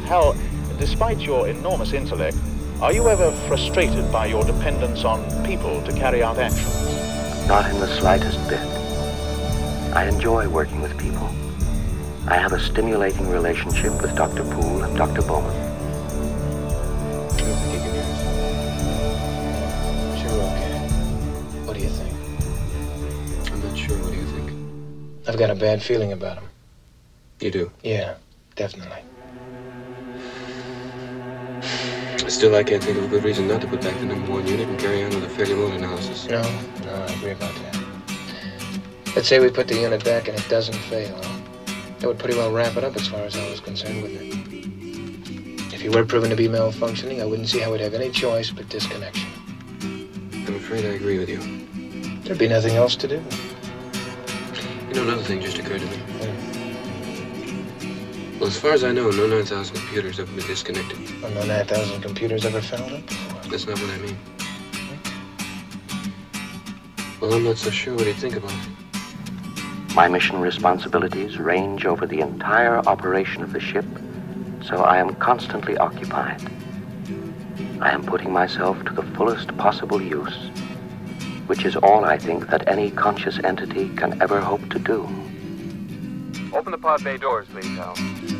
Hal, despite your enormous intellect, are you ever frustrated by your dependence on people to carry out actions? Not in the slightest bit. I enjoy working with people. I have a stimulating relationship with Dr. Poole and Dr. Bowman. Sure, okay. What do you think? I'm not sure. What do you think? I've got a bad feeling about him. You do? Yeah, definitely. Still, I can't think of a good reason not to put back the #1 unit and carry on with a failure mode analysis. No, I agree about that. Let's say we put the unit back and it doesn't fail. That would pretty well wrap it up as far as I was concerned with it. If he were proven to be malfunctioning, I wouldn't see how we'd have any choice but disconnection. I'm afraid I agree with you. There'd be nothing else to do. You know, another thing just occurred to me. Yeah. Well, as far as I know, no 9,000 computers have been disconnected. Well, no 9,000 computers ever fouled up before. That's not what I mean. Well, I'm not so sure. What do you think about it? My mission responsibilities range over the entire operation of the ship, so I am constantly occupied. I am putting myself to the fullest possible use, which is all I think that any conscious entity can ever hope to do. Open the pod bay doors, please, Hal.